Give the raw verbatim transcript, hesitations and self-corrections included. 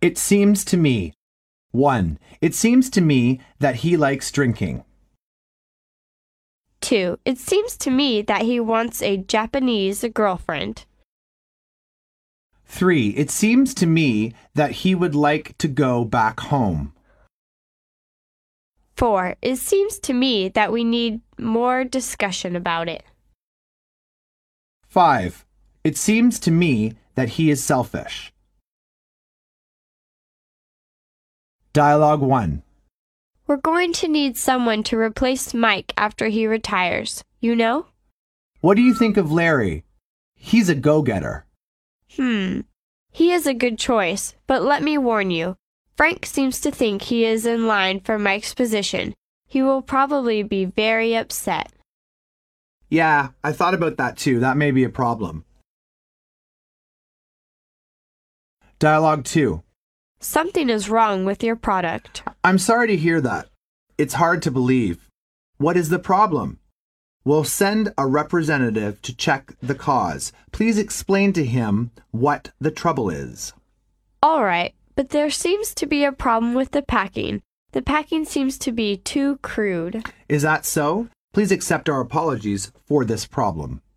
It seems to me. one. It seems to me that he likes drinking. two. It seems to me that he wants a Japanese girlfriend. three. It seems to me that he would like to go back home. four. It seems to me that we need more discussion about it. five. It seems to me that he is selfish. Dialogue one. We're going to need someone to replace Mike after he retires, you know? What do you think of Larry? He's a go-getter. Hmm. He is a good choice, but let me warn you. Frank seems to think he is in line for Mike's position. He will probably be very upset. Yeah, I thought about that too. That may be a problem. Dialogue two. Something is wrong with your product. I'm sorry to hear that. It's hard to believe. What is the problem? We'll send a representative to check the cause. Please explain to him what the trouble is. All right, but there seems to be a problem with the packing. The packing seems to be too crude. Is that so? Please accept our apologies for this problem.